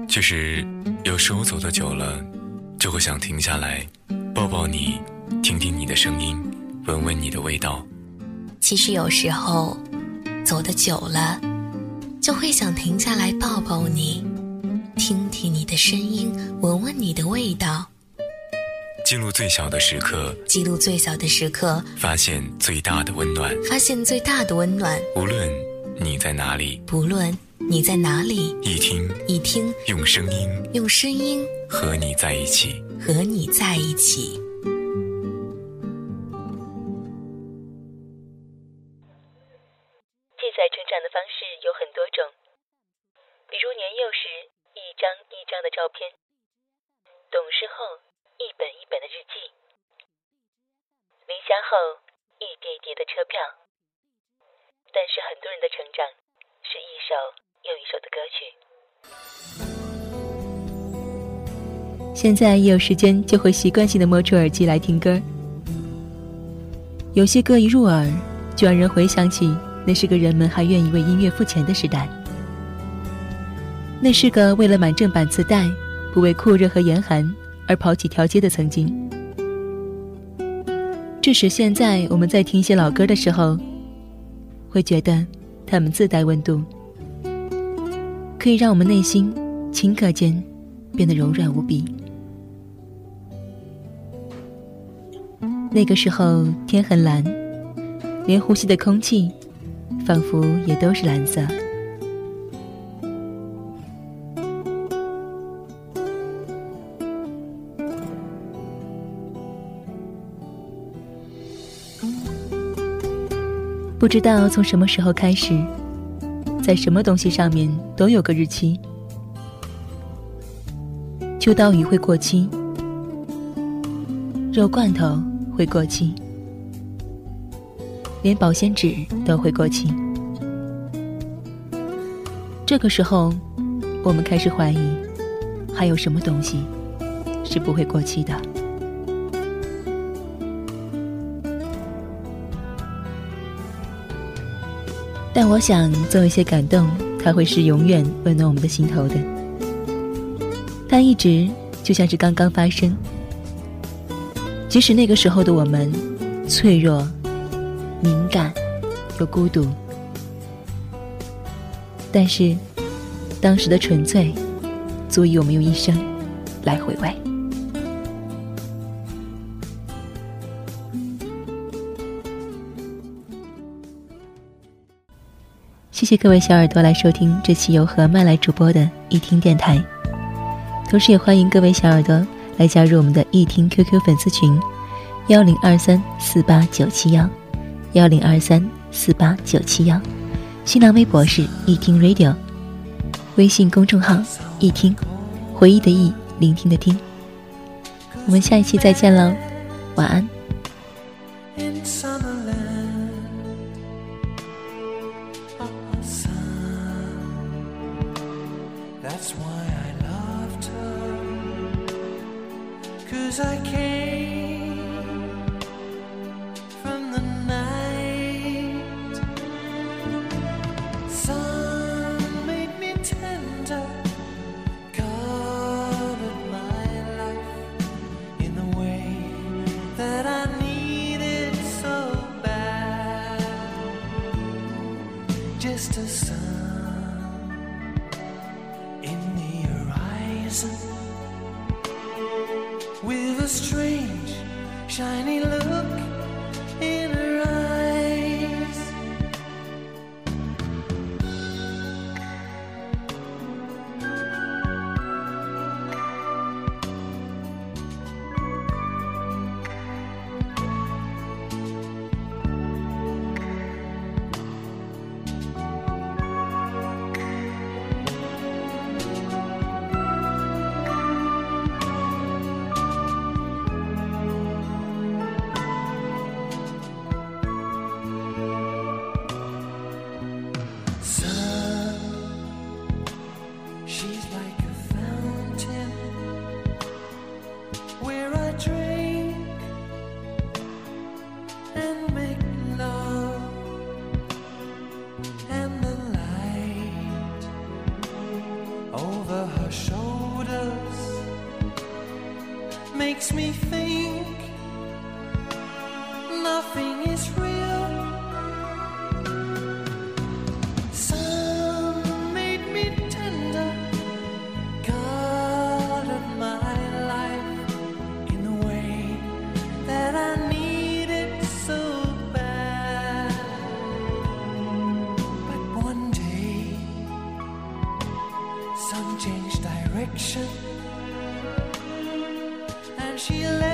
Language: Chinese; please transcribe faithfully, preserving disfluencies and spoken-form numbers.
就是有时候走得久了，就会想停下来抱抱你，听听你的声音，闻闻你的味道。 其实有时候走得久了，就会想停下来抱抱你，听听你的声音，闻闻你的味道。 记录最小的时刻， 记录最小的时刻， 发现最大的温暖， 发现最大的温暖。 无论你在哪里， 不论你在哪里， 一听一听， 用声音用声音和你在一起， 和你在一起。 记载成长的方式有很多种，比如年幼时一张一张的照片，懂事后一本一本的日记，离家后一叠一叠的车票。但是很多人的成长是一首又一首的歌曲。现在一有时间就会习惯性的摸出耳机来听歌，有些歌一入耳就让人回想起那是个人们还愿意为音乐付钱的时代，那是个为了买正版磁带不为酷热和严寒而跑几条街的曾经。致使现在我们在听一些老歌的时候，会觉得它们自带温度，可以让我们内心顷刻间变得柔软无比。那个时候天很蓝，连呼吸的空气仿佛也都是蓝色。不知道从什么时候开始，在什么东西上面都有个日期。秋刀鱼会过期，肉罐头会过期，连保鲜纸都会过期。这个时候，我们开始怀疑，还有什么东西是不会过期的。但我想总有一些感动，它会是永远温暖我们的心头的。它一直就像是刚刚发生，即使那个时候的我们脆弱、敏感又孤独，但是当时的纯粹足以我们用一生来回味。谢谢各位小耳朵来收听这期由何曼来主播的一听电台，同时也欢迎各位小耳朵来加入我们的一听 Q Q 粉丝群幺零二三四八九七幺幺零二三四八九七幺，新浪微博是一听 Radio， 微信公众号一听，回忆的忆，聆听的听。我们下一期再见喽，晚安。 That's why I loved her, 'cause I came from the night. Sun made me tender, colored my life in the way that I needed so bad. Just a sun with a strange, shiny look in her eyes. over her shoulder. makes me think nothing is real. Sun made me tender, guarded my life in the way that I need it so bad. But one day, sun changed direction, and she left